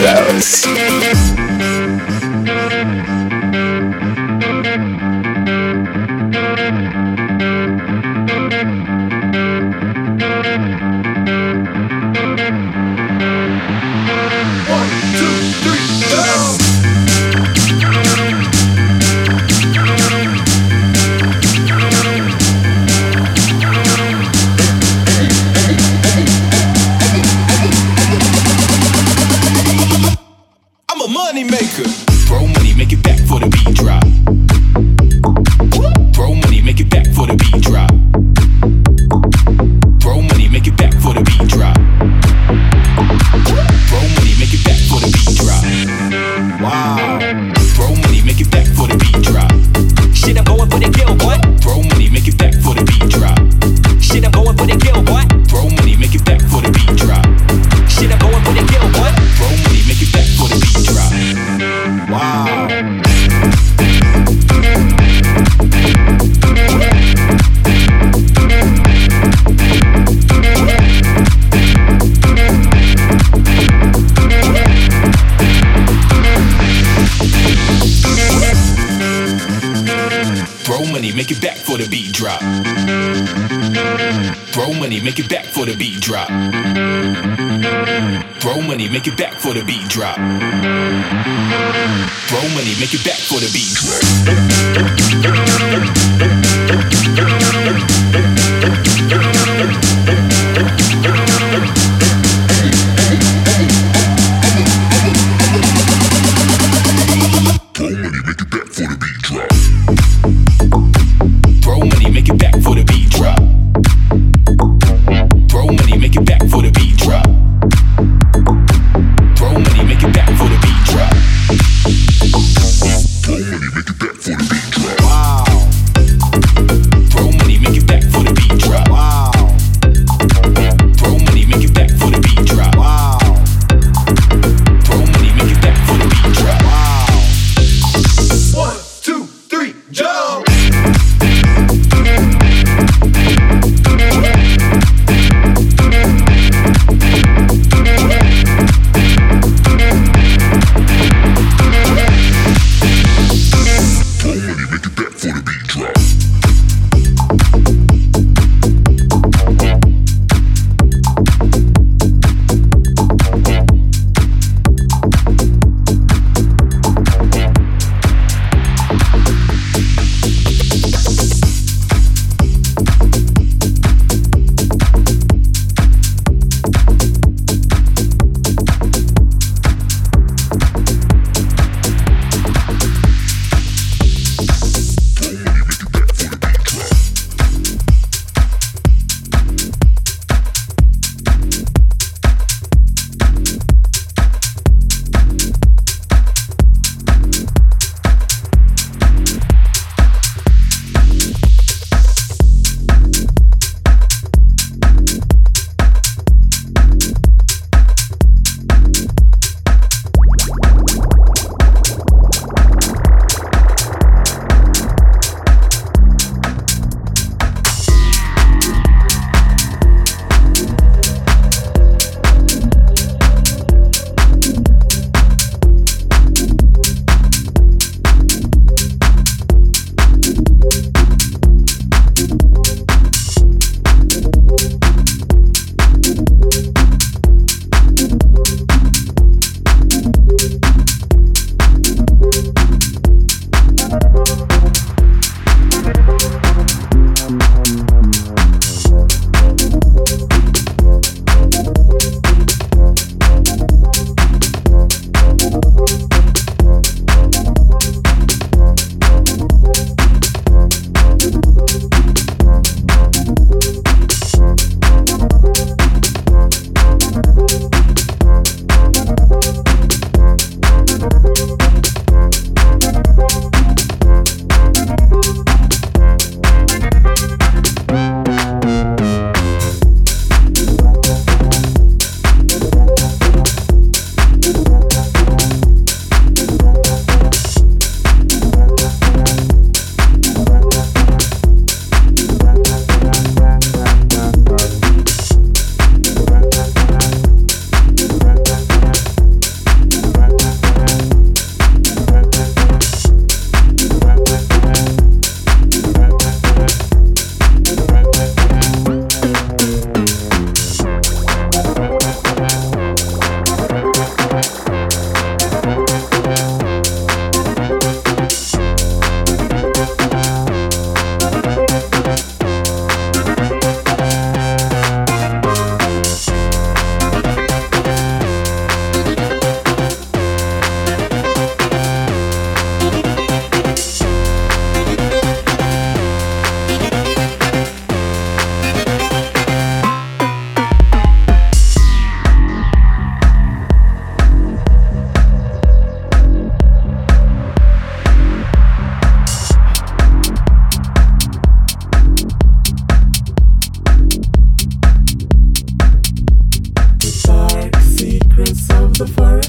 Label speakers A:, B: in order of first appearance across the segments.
A: House.
B: make it back for the beat drop. Throw money, make it back for the beat drop. Throw money, make it back for the beat drop. Throw money, make it back for the beat Throw money, make it back for the beat drop. Throw money, make it back for the beat drop. Throw money, make it back for the beat drop. Throw money, make it back for the beat drop. Wow. Throw money,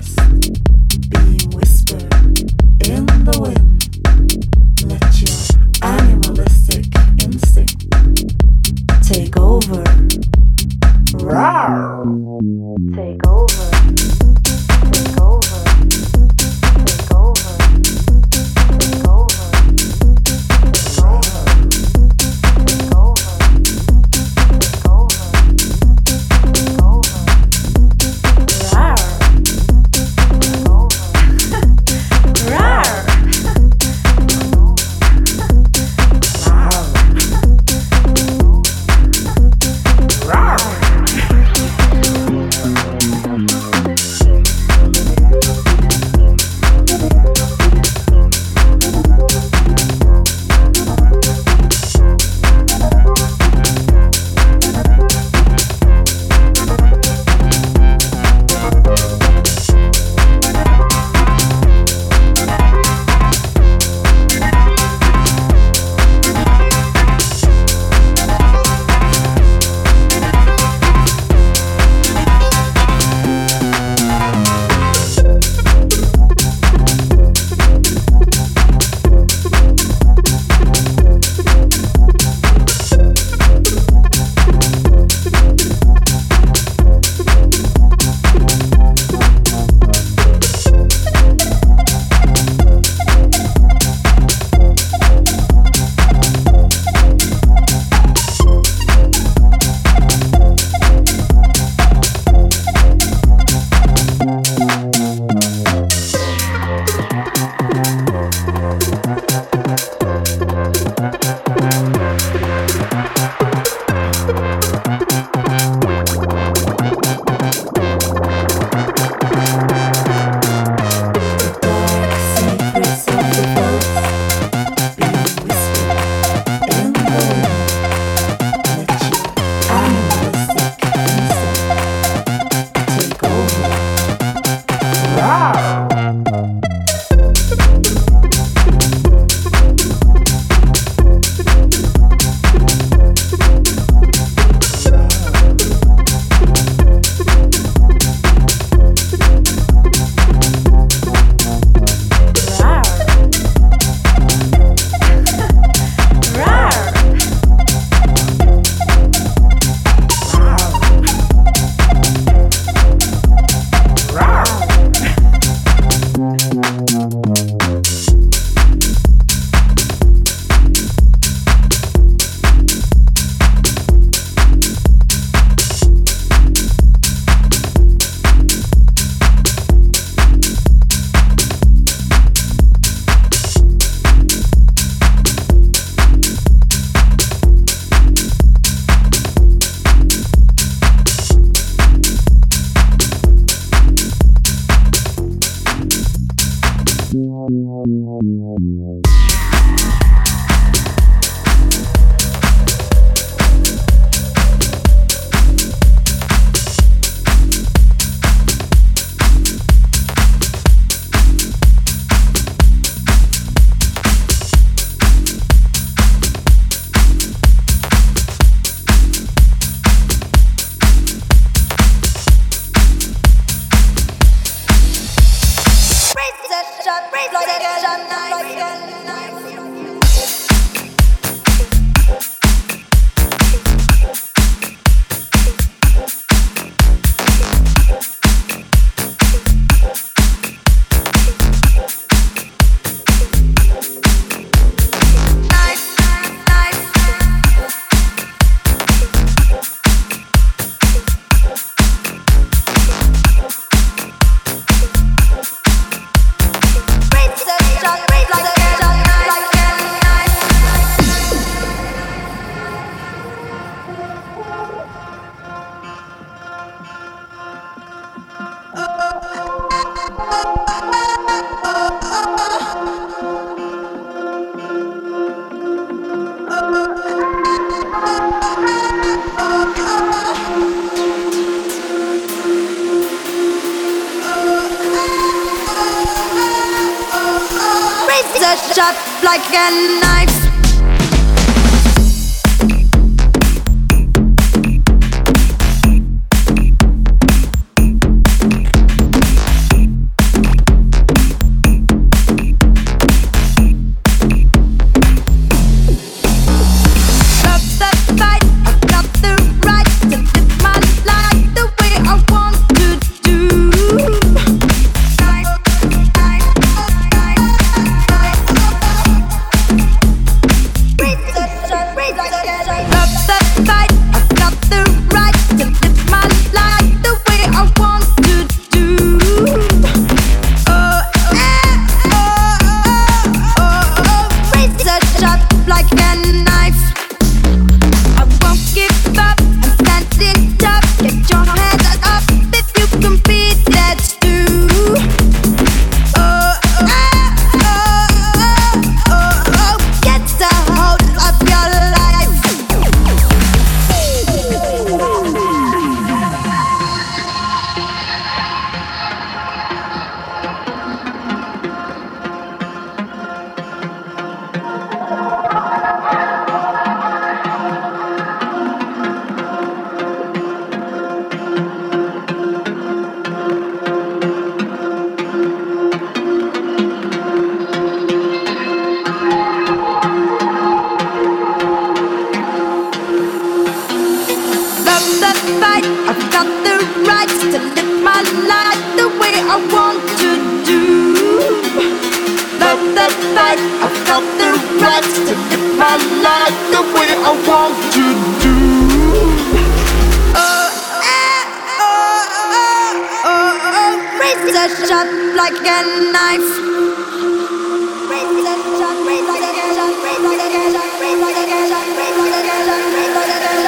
A: being whispered in the wind. Let your animalistic instinct take over. Rawr. Take over. Take over. Take over. Take over. Take over. Take over. Take over. Take over. Rawr. Take over. Rawr.
C: Sharp like a knife.
D: life the way I want to do.
C: Razor sharp like a knife. Razor sharp, razor like a sharp, razor like a sharp, razor like a sharp, razor like a sharp, razor like a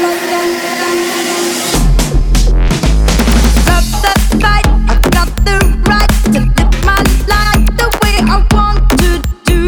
C: sharp. Love the fight, I've got the right to live my life the way I want to do.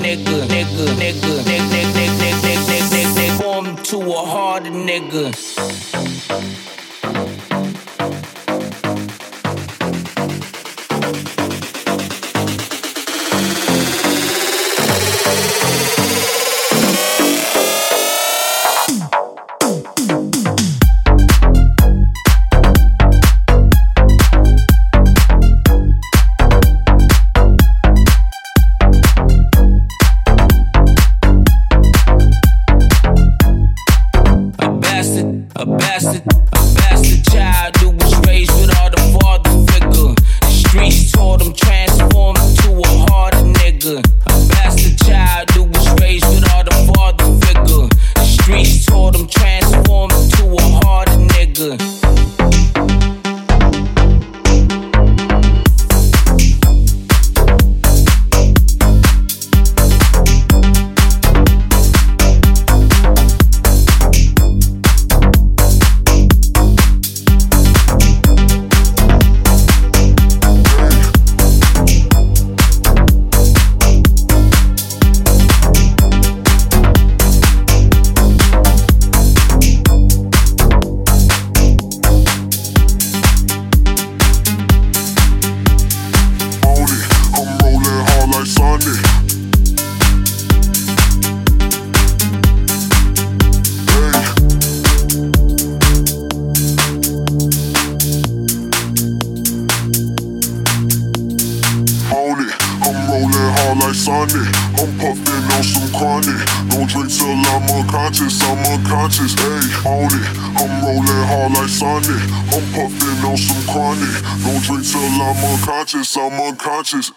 E: nigga, nigga, nigga, nigga, nigga, nigga, nigga, form to a harder nigga.
F: I'm unconscious.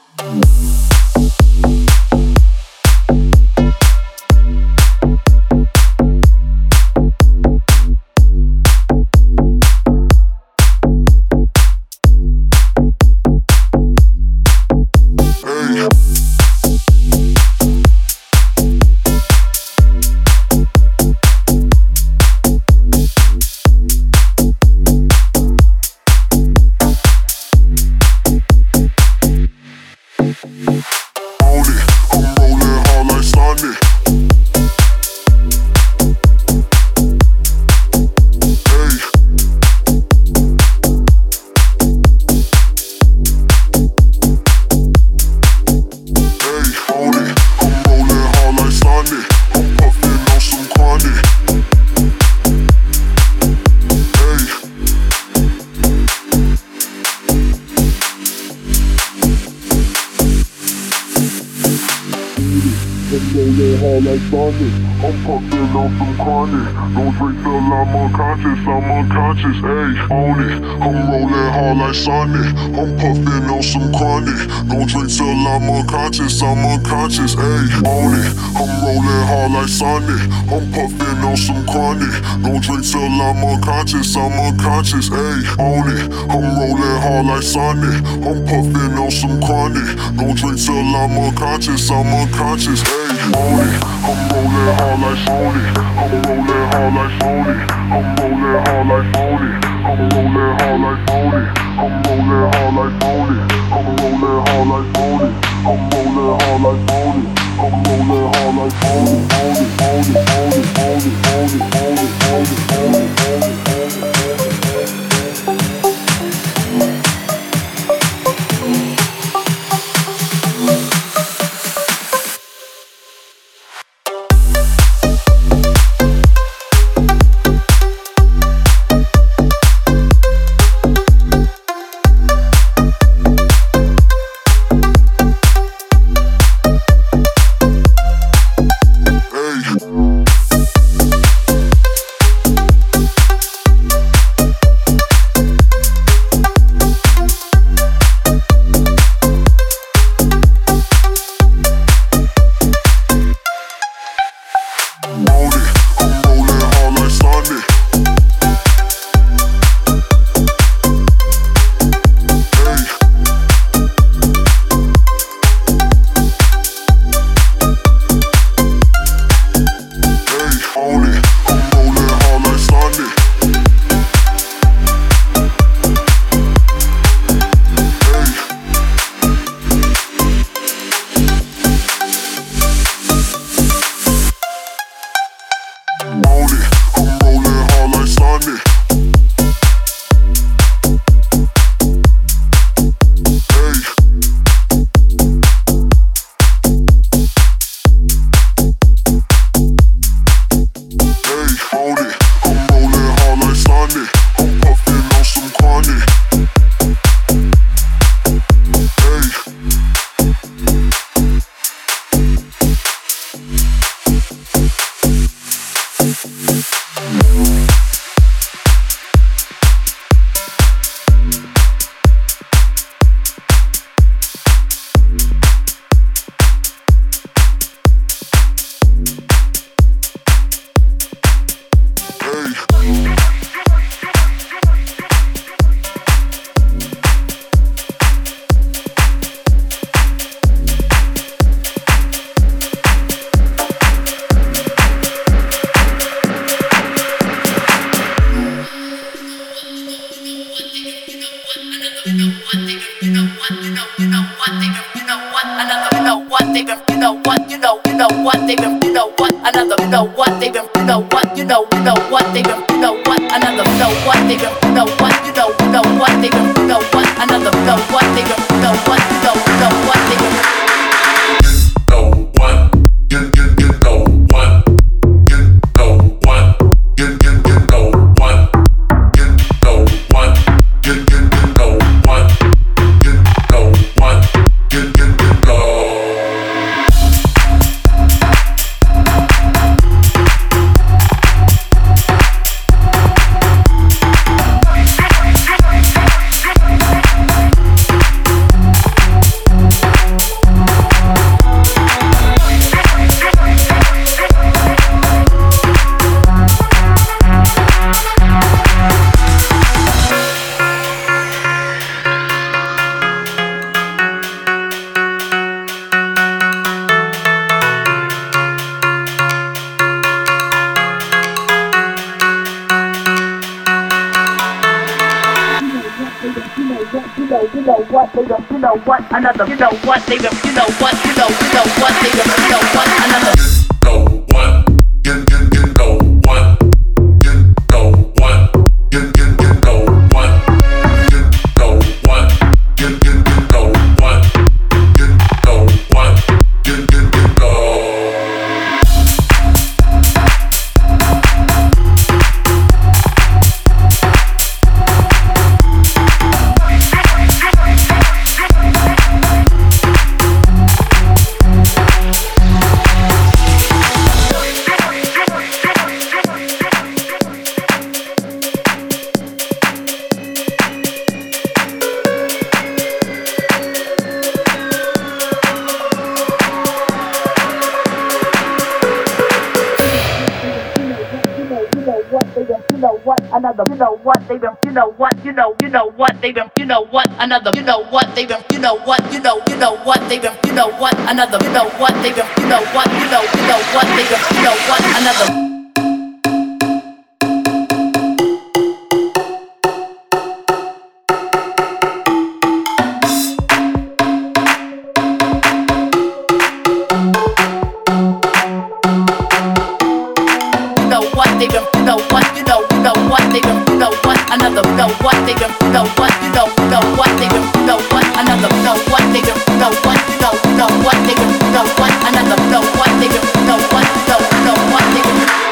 F: like Sonic. I'm puffin' on some chronic. Don't drink till I'm unconscious, ayy, own it. I'm rollin' hard like Sonic. I'm puffin' on some chronic. Don't drink till I'm unconscious, ayy, own it. I'm rollin' hard like Sonic. I'm puffin' on some chronic. Don't drink till I'm unconscious, ayy, own it. I'm rollin' hard like Sonic. I'm puffin' on some chronic. Don't drink till I'm unconscious, ayy, own it. I'm rollin' hard like Sonic. I'm rollin' hard like Sonic. I'm rollin' hard like Sonic. I'm rollin' hard like Sonic. I'm rollin' hard like Sonic. I'm rollin' hard like Sonic. I'm rollin' hard like Sonic. I'm rollin' hard like Sonic.
E: what they've been, you know what, another, you know what they've been, you know what, you know what they've been, you know what, another, you know what they've been, you know what, you know what they've been, you know what, another, you know what they've been, you know what, you know what they've been. You know what, another, you know what they've been, you know what, you know what they've been, you know what, another. Another, you know what they've been, you know what, you know what they've been, you know what, another, you know what they've been, you know what, you know what they've been, you know what, another, you know what they've been, you know what, you know what they've been, you know what, another. You know what, you know what they've been, you know what, another, you know what they've been, you know what, you know what they've been, you know what, another, you know what they've been, you know what, you know what they've been, you know what, another, you know what they've been, you know what, you know what they've been.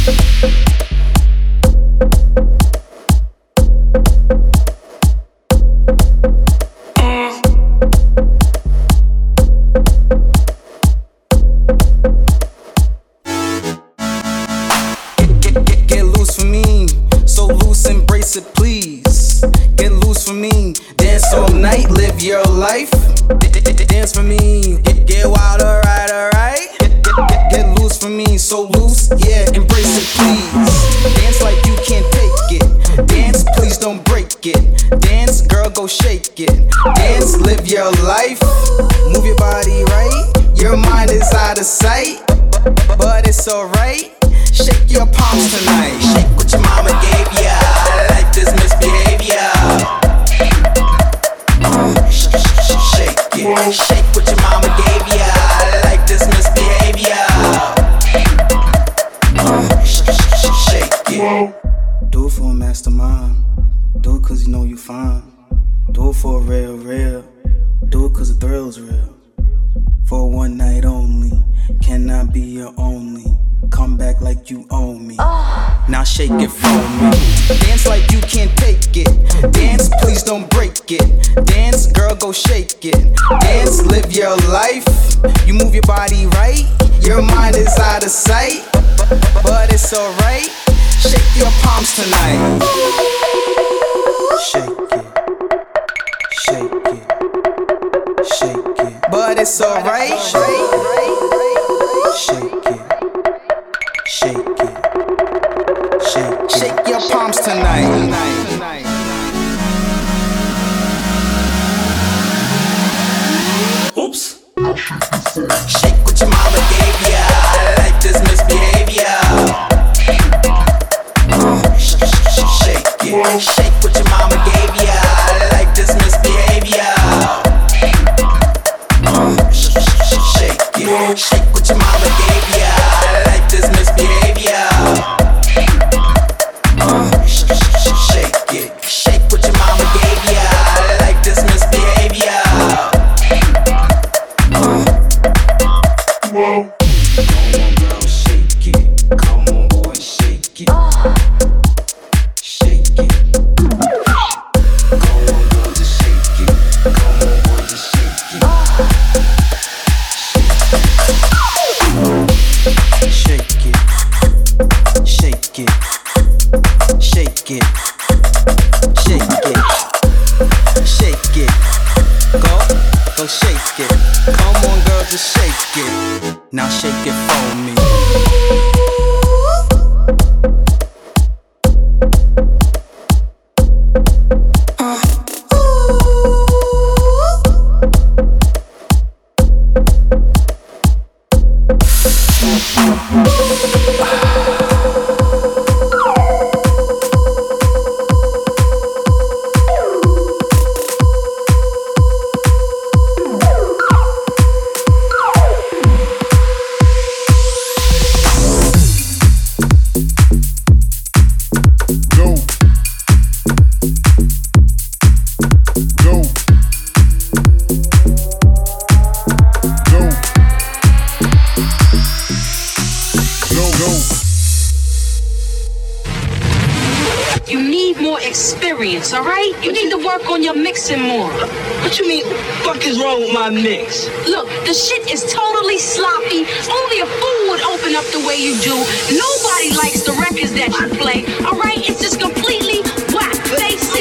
G: All right? You need to work on your mixing more.
H: What you mean? What the fuck is wrong with my mix?
G: Look, the shit is totally sloppy. Only a fool would open up the way you do. Nobody likes the records that you play. All right? It's just completely whack. Basic.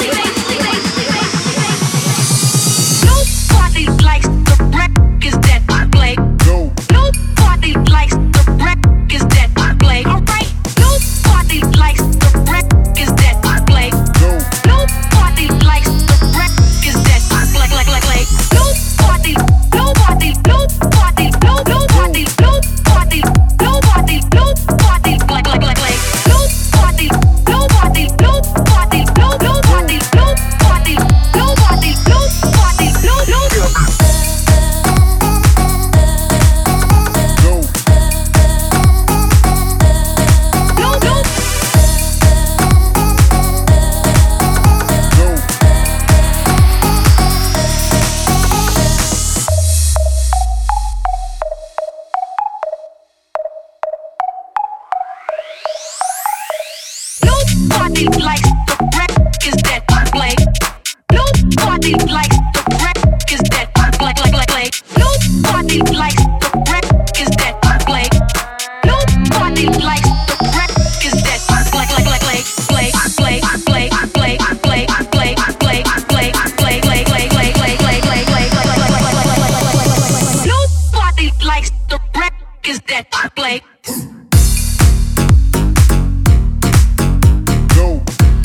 G: Nobody likes the records that you play. Nobody likes the records that you play. All right? Nobody likes the records that you play. Nobody likes the records that I play. Nobody like. Nobody Nobody likes the records that play. Nobody likes the records that play. Nobody likes the records that play. Nobody likes the records that play. Nobody likes the records that play.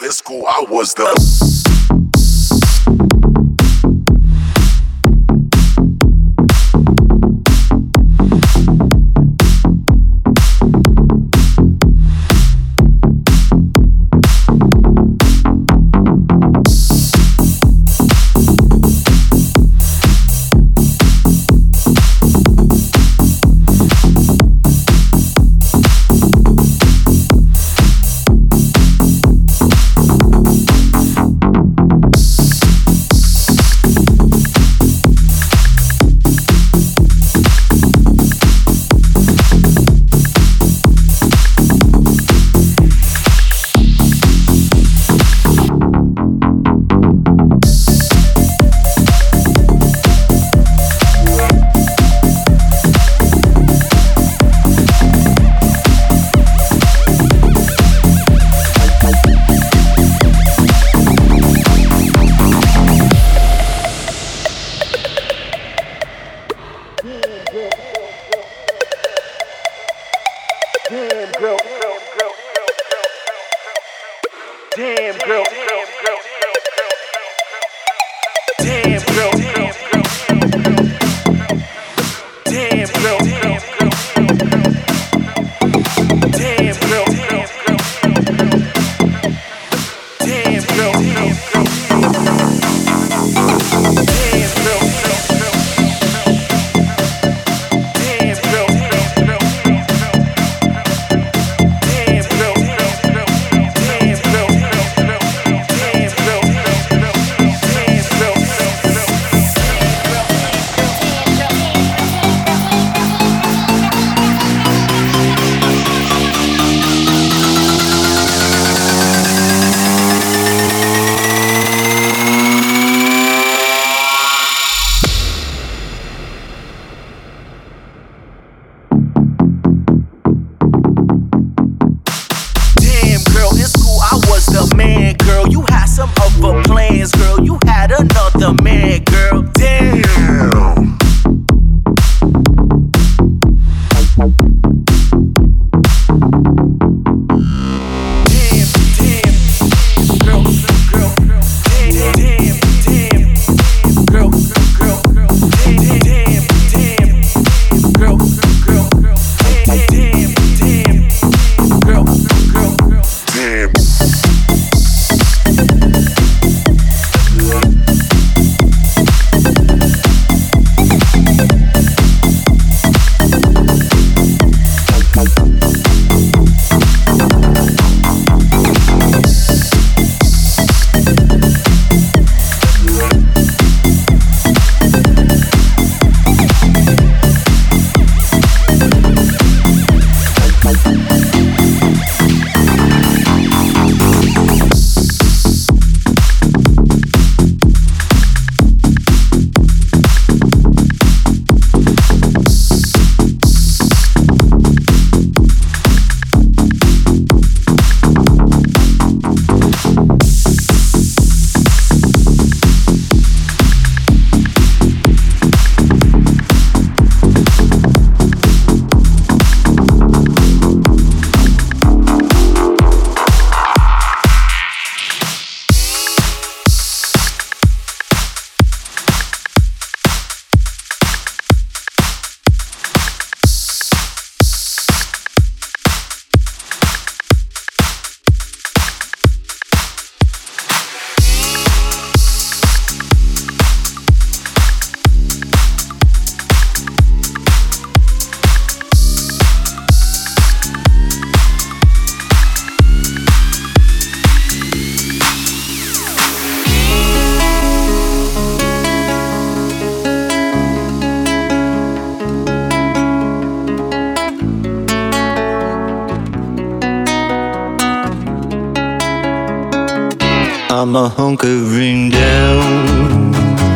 F: in school, I was the.
I: I'm a hunkering down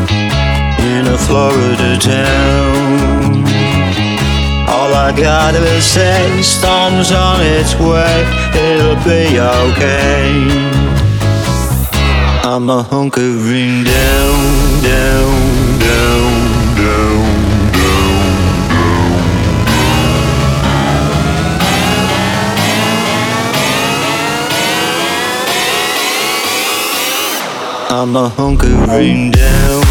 I: in a Florida town. All I gotta say, storm's on its way, it'll be okay. I'm a hunkering down, down, down, down. I'm a hunkering down.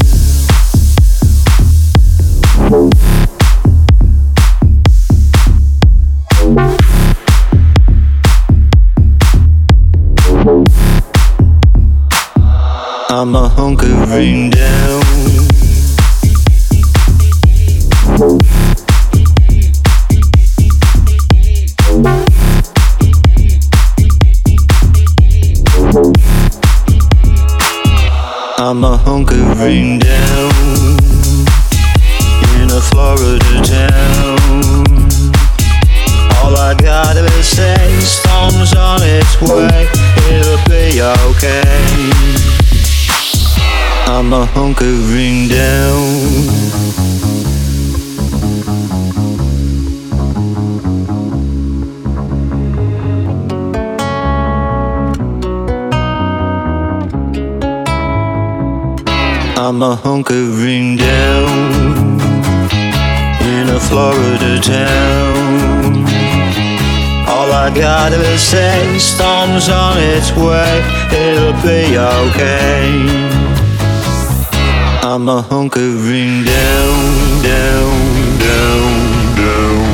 I: I'm a hunkering down. I'm a hunkering down in a Florida town. All I gotta say, storm's on its way, it'll be okay. I'm a hunkering down. I'm a hunkering down in a Florida town. All I gotta say, storm's on its way, it'll be okay. I'm a hunkering down, down, down, down.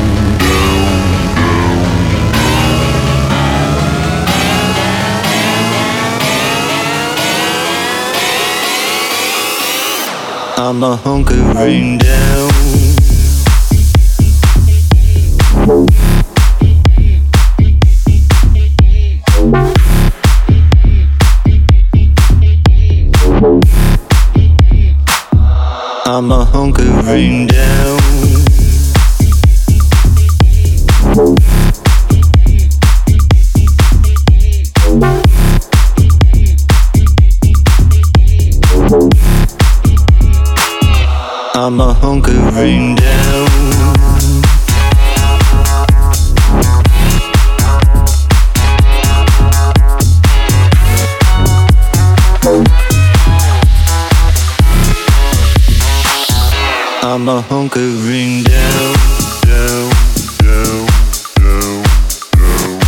I: I'm a hunkering down. I'm a hunkering down. I'm a hunkering down. I'm a hunkering down, down, down, down, down.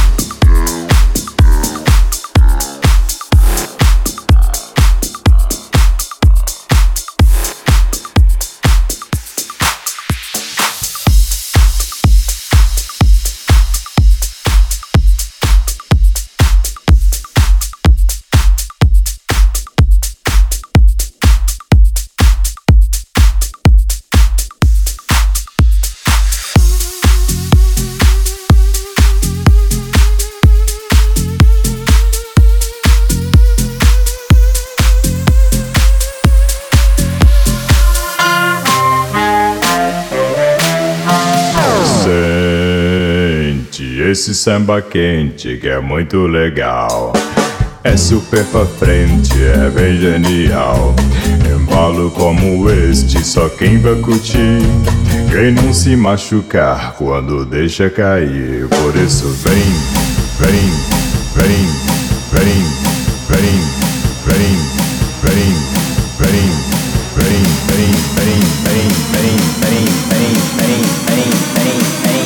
J: Esse samba quente que é muito legal, é super pra frente, é bem genial. Embalo como este, só quem vai curtir, quem não se machucar quando deixa cair. Por isso vem, vem, vem, vem, vem, vem, vem, vem, vem, vem, vem, vem, vem, vem, vem, vem, vem, vem.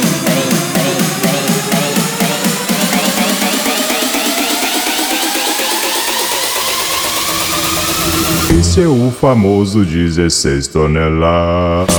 J: Esse é o famoso 16 toneladas.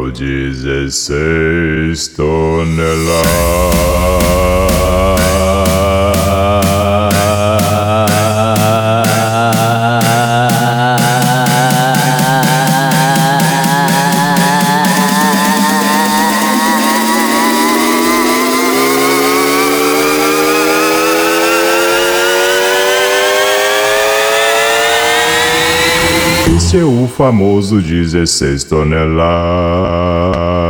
J: 16 toneladas. Esse é o famoso 16 toneladas.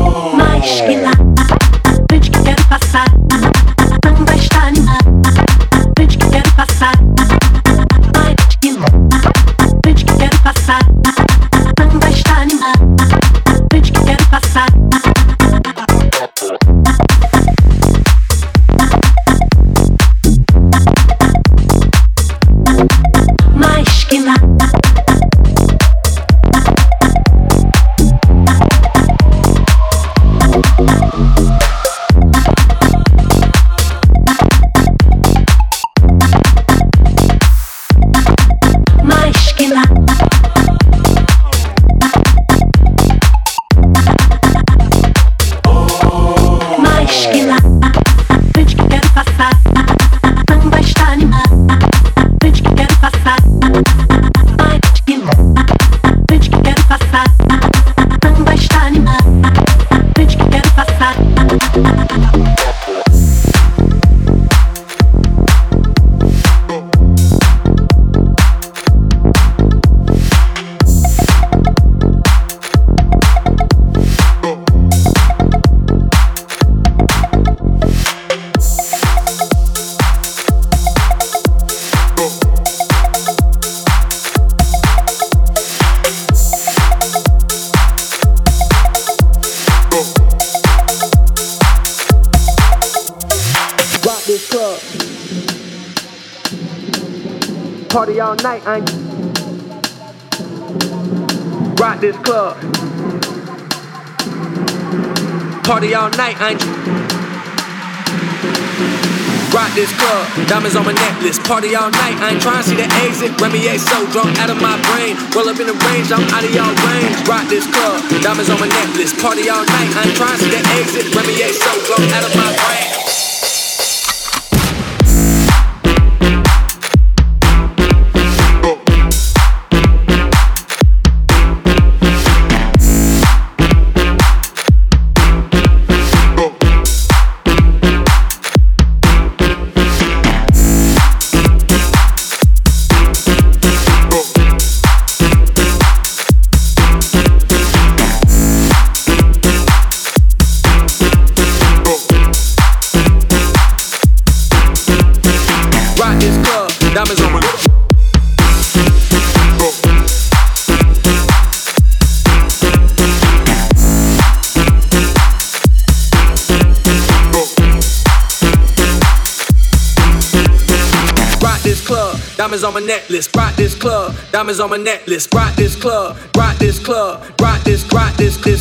G: esquina, frente que quero passar, não vai estar animado.
K: this club. Party all night, I ain't rock this club. Party all night, I ain't rock this club. Diamonds on my necklace. Party all night, I ain't trying to see the exit. Remy A so drunk out of my brain. Roll up in the range, I'm out of y'all range. Rock this club. Diamonds on my necklace. Party all night, I ain't trying to see the exit. Remy A so drunk out of my brain. Diamonds on my necklace, rock this club. Diamonds on my necklace, rock this club. Rock this club, rock this club.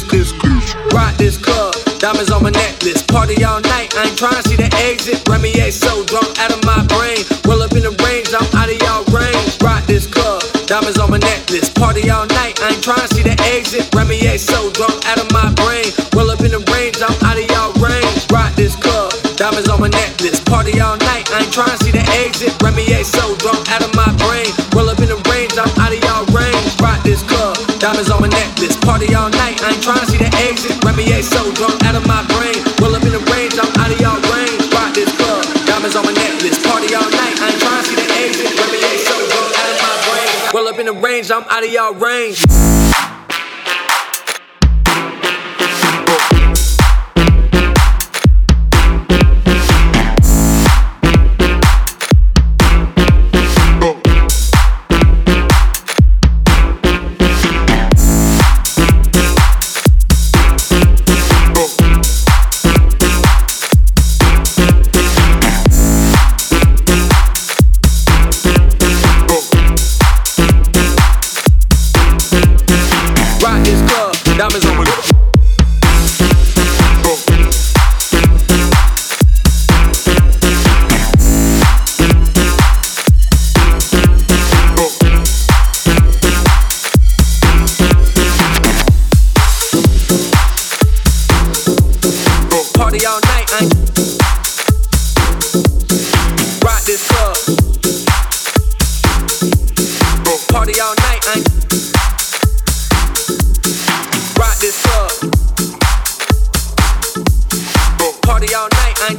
K: Diamonds on my necklace, party all night. I ain't trying to see the exit. Remy A so drunk out of my brain. Roll up in the range, I'm out of y'all range. Rock this club, diamonds on my necklace, party all night. I ain't trying to see the exit. Remy A so drunk out of my brain. Roll up in the range, I'm out of y'all range. Rock this club, diamonds on my necklace, party all night. I ain't trying to see the exit. Remy A so drunk out of my brain. Roll up in the range, I'm out of y'all range. Rock this club, diamonds on my necklace, party all night. I ain't trying to see the exit. Remy A so drunk out of my brain. Roll up in the range, I'm out of y'all range. Rock this club, diamonds on my necklace, party all night. I ain't trying to see the exit. Remy A so drunk out of my brain. Roll up in the range, I'm out of y'all range. Diamonds on my party all night, I rock this club. Party all night, I rock this club. Party all night, I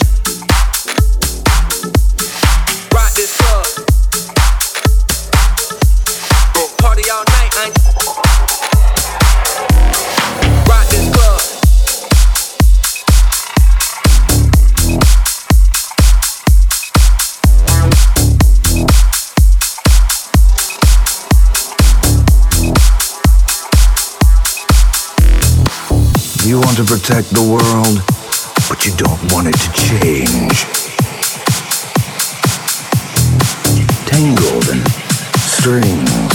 K: rock this club. Party all night, I rock this club.
L: You want to protect the world, but you don't want it to change. Tangled in strings.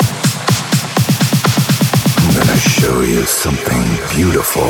L: I'm gonna show you something beautiful.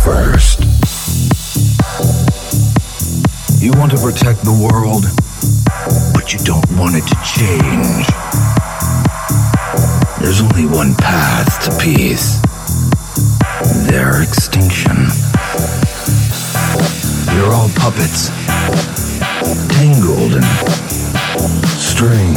L: first. You want to protect the world, but you don't want it to change. There's only one path to peace. Their extinction. You're all puppets, tangled in strings.